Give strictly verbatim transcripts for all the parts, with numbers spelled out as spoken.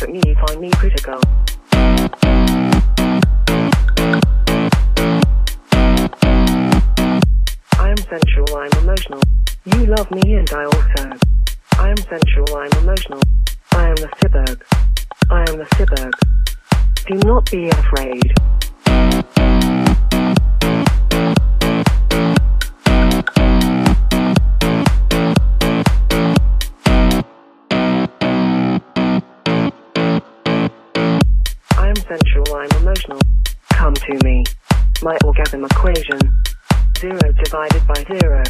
at me, you find me critical. I am sensual, I'm emotional. You love me and I also. I am sensual, I'm emotional. I am the cyborg. I am the cyborg. Do not be afraid. I am sensual, I'm emotional. Come to me. My orgasm equation. Zero divided by zero.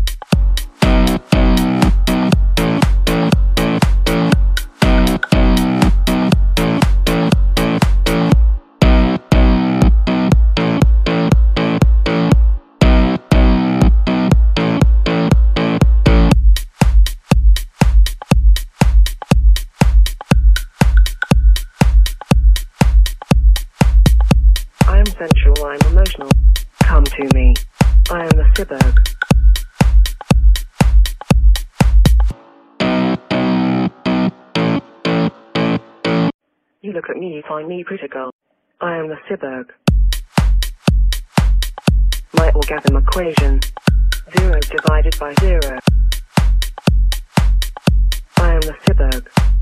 I am sensual, I'm emotional. Come to me. I am the cyborg. You look at me, you find me critical. I am the cyborg. My orgasm equation. Zero divided by zero. I am the cyborg.